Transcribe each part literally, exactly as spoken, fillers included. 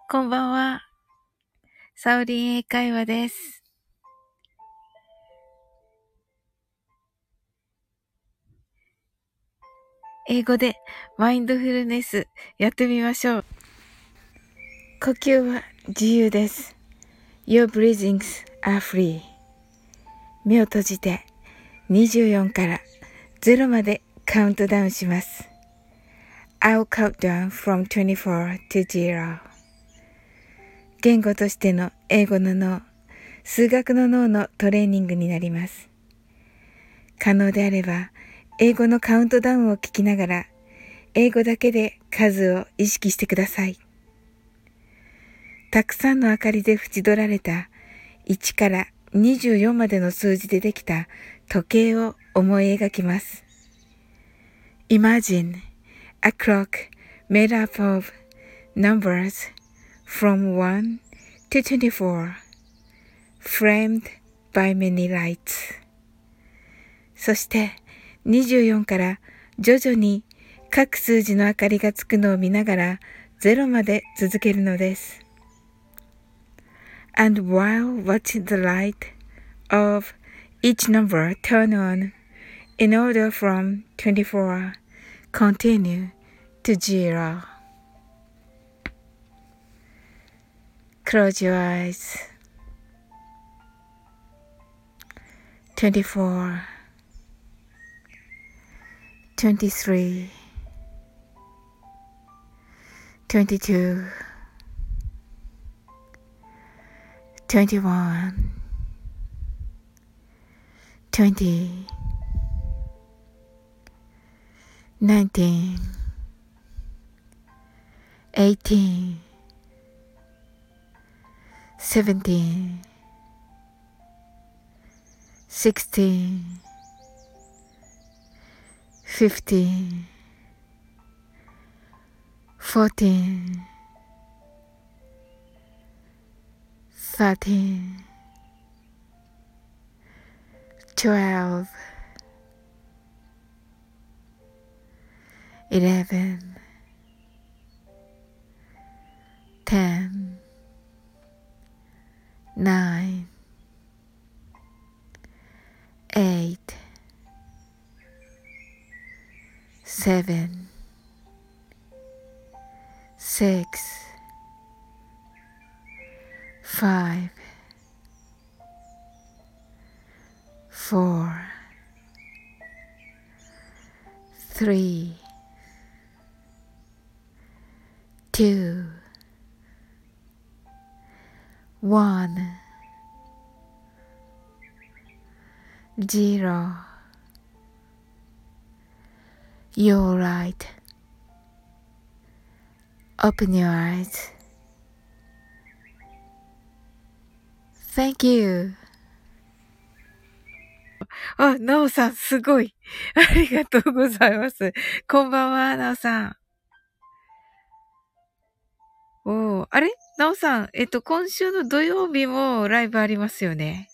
こんばんは。サオリン英会話です。英語でマインドフルネスやってみましょう。呼吸は自由です。Your breathings are free. 目を閉じてにじゅうよんからゼロまでカウントダウンします。I'll count down from twenty-four to zero. 言語としての英語の脳、数学の脳のトレーニングになります。可能であれば、英語のカウントダウンを聞きながら、英語だけで数を意識してください。たくさんの明かりで縁取られたいちからにじゅうよんまでの数字でできた時計を思い描きます。Imagine a clock made up of numbers from one to twenty-four, framed by many lights. そしてにじゅうよんから徐々に各数字の明かりがつくのを見ながらゼロまで続けるのです。And while watching the light of each number turn on in order from twenty-four, continue to zero. Close your eyes. twenty-four, twenty-three, twenty-two, twenty-one, twenty, nineteen, eighteen, seventeen, sixteen, fifteen, fourteen, thirteen, twelve, eleven, ten, nine, eight, seven, six, five, four, three, two, one, zero. You're right. Open your eyes. Thank you. あ、なおさん、すごい。ありがとうございます。こんばんは、なおさん。おー、あれなおさん、えっと、今週の土曜日もライブありますよね。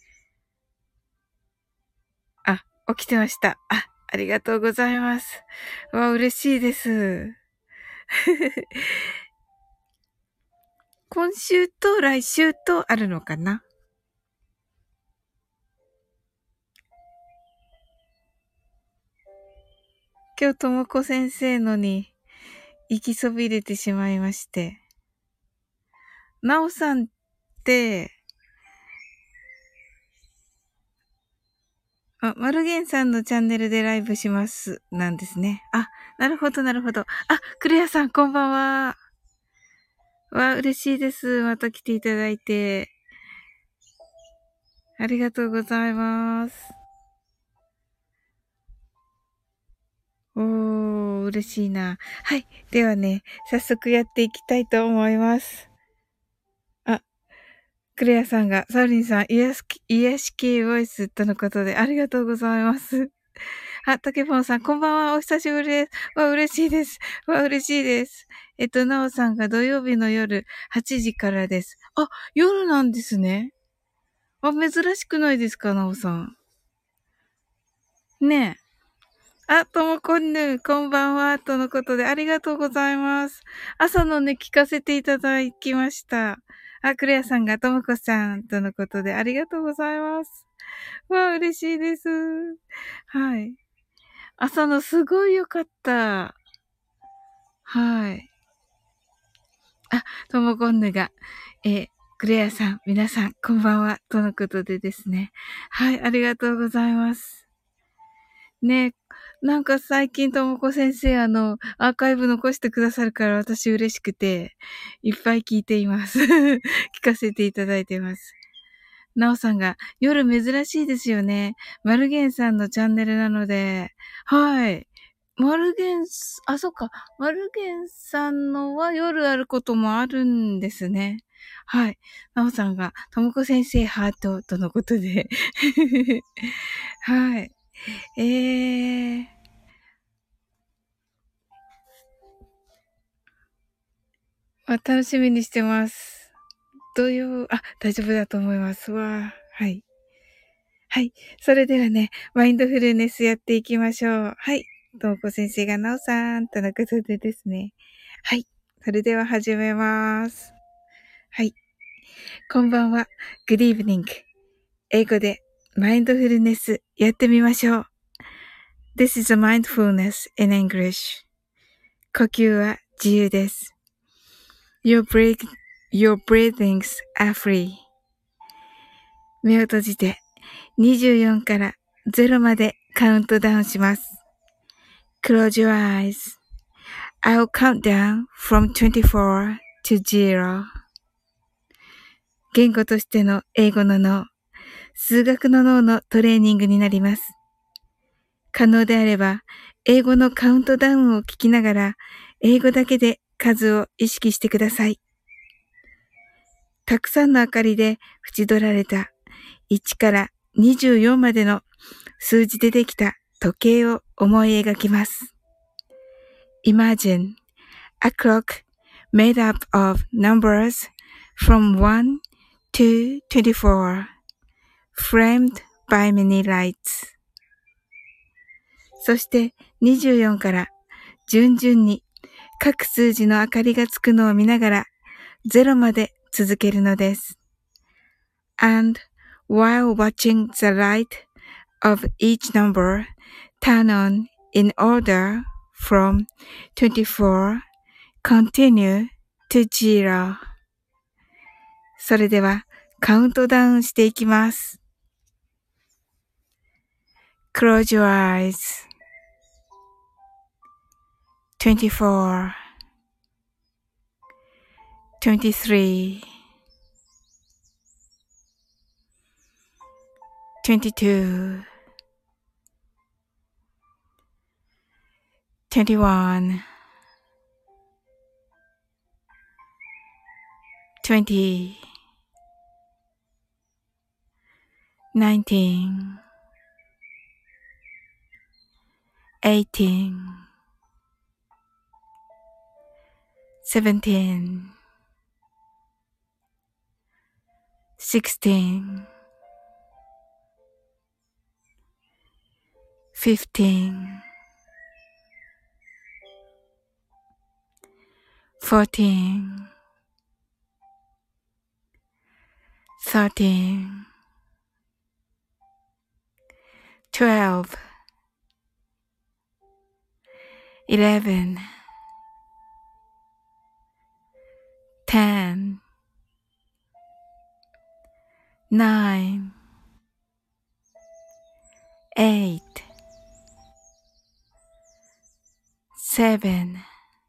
あ、起きてました。あ、ありがとうございます。わ、嬉しいです。今週と来週とあるのかな？今日ともこ先生のに行きそびれてしまいまして。なおさんって、あ、マルゲンさんのチャンネルでライブします。なんですね。あ、なるほど、なるほど。あ、クレアさん、こんばんは。わ、嬉しいです。また来ていただいて。ありがとうございます。おー、嬉しいな。はい。ではね、早速やっていきたいと思います。あ、クレアさんが、サウリンさん、癒し、癒し系ボイスとのことで、ありがとうございます。あ、タケポンさん、こんばんは。お久しぶりです。わ、嬉しいです。わ、嬉しいです。えっと、なおさんが土曜日の夜はちじからです。あ、夜なんですね。あ、珍しくないですか、なおさん。ねえ。 あ、ともこんぬ、こんばんは、とのことでありがとうございます。朝のね、聞かせていただきました。あ、クレアさんがともこさん、とのことでありがとうございます。わあ、嬉しいです。はい。朝のすごい良かった。はい。あ、ともこんぬが、えー、クレアさん、皆さん、こんばんは、とのことでですね。はい、ありがとうございます。ね、なんか最近ともこ先生、あの、アーカイブ残してくださるから私嬉しくて、いっぱい聞いています。聞かせていただいてます。なおさんが、夜珍しいですよね。マルゲンさんのチャンネルなので、はい。マルゲンス、あ、そっか。マルゲンさんのは夜あることもあるんですね。はい。なおさんが、ともこ先生ハートとのことで。はい。えー。あ、楽しみにしてます。土曜、あ、大丈夫だと思います。わー。はい。はい。それではね、マインドフルネスやっていきましょう。はい。ともこ先生がなおさんとのことでですね。はい。それでは始めます。はい。こんばんは。Good evening. 英語でマインドフルネスやってみましょう。This is a mindfulness in English. 呼吸は自由です。Your, breath, your breathings are free. 目を閉じてにじゅうよんからゼロまでカウントダウンします。Close your eyes.I'll count down from twenty-four to zero. 言語としての英語の脳、数学の脳のトレーニングになります。可能であれば、英語のカウントダウンを聞きながら、英語だけで数を意識してください。たくさんの明かりで縁取られたいちからにじゅうよんまでの数字でできた時計を思い描きます。Imagine a clock made up of numbers from one to twenty-four, framed by many lights. そしてにじゅうよんから順々に各数字の明かりがつくのを見ながらゼロまで続けるのです。And while watching the light of each number turn on in order from twenty-four, continue to zero. それではカウントダウンしていきます。Close your eyes. twenty-four, twenty-three, twenty-two, twenty-one, twenty, nineteen, eighteen, seventeen, sixteen, fifteen, fourteen, thirteen, twelve, eleven, ten, nine, eight, seven,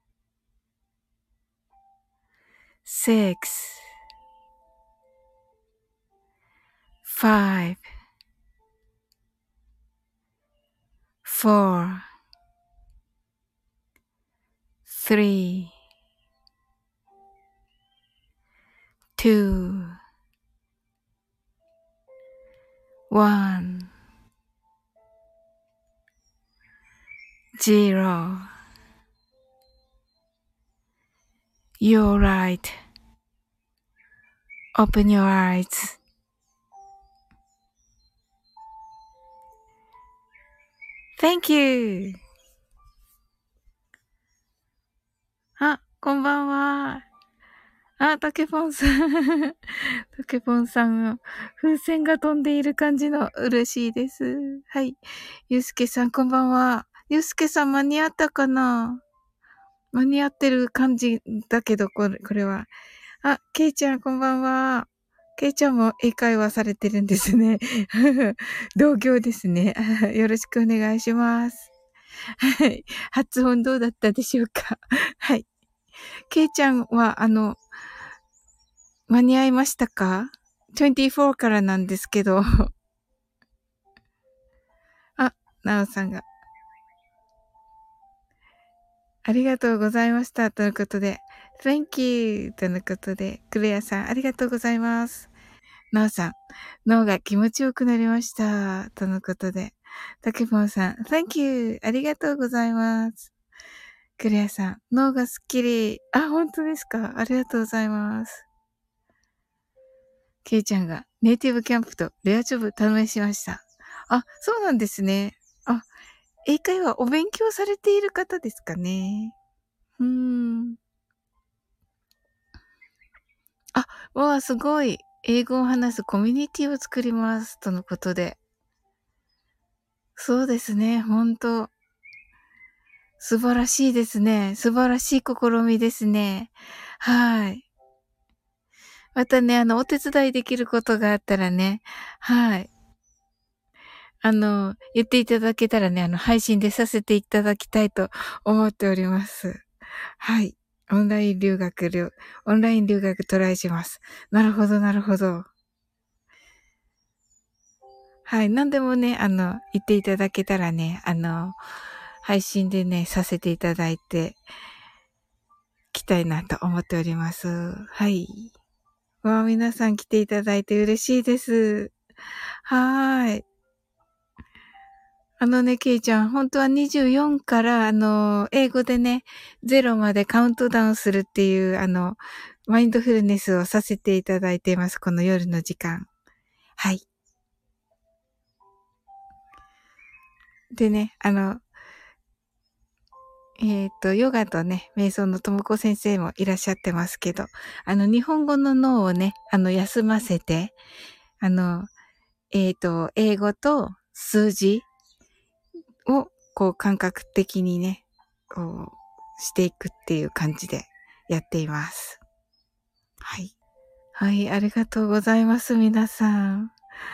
six, five, four, three, two, one, zero. You're right. Open your eyes. Thank you! あ、こんばんは。あ、たけぽんさん。たけぽんさんが、風船が飛んでいる感じの嬉しいです。はい。ゆうすけさん、こんばんは。ゆうすけさん、間に合ったかな？間に合ってる感じだけど、これ、これは。あ、けいちゃん、こんばんは。けいちゃんも英会話されてるんですね。同業ですね。よろしくお願いします。はい。発音どうだったでしょうか？はい。けいちゃんは、あの、間に合いましたか？ にじゅうよん からなんですけど。あ、なおさんが。ありがとうございました。ということで。Thank you! ということで、クレアさん、ありがとうございます。なおさん、脳が気持ちよくなりました。とのことで。たけぽんさん、Thank you! ありがとうございます。クレアさん、脳がすっきり。あ、本当ですか？ありがとうございます。ケイちゃんがネイティブキャンプとレアジョブ試しました。あ、そうなんですね。あ、英会話お勉強されている方ですかね。うーん。あ、わあ、すごい。英語を話すコミュニティを作ります。とのことで。そうですね。本当素晴らしいですね。素晴らしい試みですね。はい。またね、あの、お手伝いできることがあったらね、はい。あの、言っていただけたらね、あの、配信でさせていただきたいと思っております。はい。オンライン留学留、オンライン留学トライします。なるほど、なるほど。はい。何でもね、あの、言っていただけたらね、あの、配信でね、させていただいて、きたいなと思っております。はい。わあ、皆さん来ていただいて嬉しいです。はーい。あのね、ケイちゃん、本当はにじゅうよんから、あの、英語でね、ゼロまでカウントダウンするっていう、あの、マインドフルネスをさせていただいています。この夜の時間。はい。でね、あの、えっと、ヨガとね、瞑想のともこ先生もいらっしゃってますけど、あの、日本語の脳をね、あの、休ませて、あの、えっと、英語と数字を、こう、感覚的にね、こう、していくっていう感じでやっています。はい。はい、ありがとうございます、皆さん。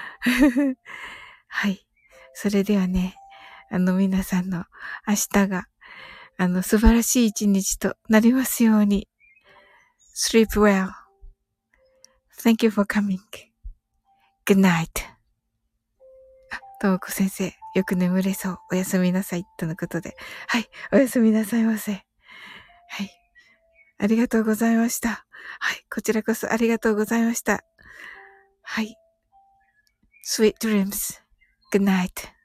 はい。それではね、あの、皆さんの明日が、あの、素晴らしい一日となりますように。Sleep well.Thank you for coming. Good night. あ、ともこ先生、よく眠れそう。おやすみなさい。とのことで。はい。おやすみなさいませ。はい。ありがとうございました。はい。こちらこそありがとうございました。はい。Sweet dreams. Good night.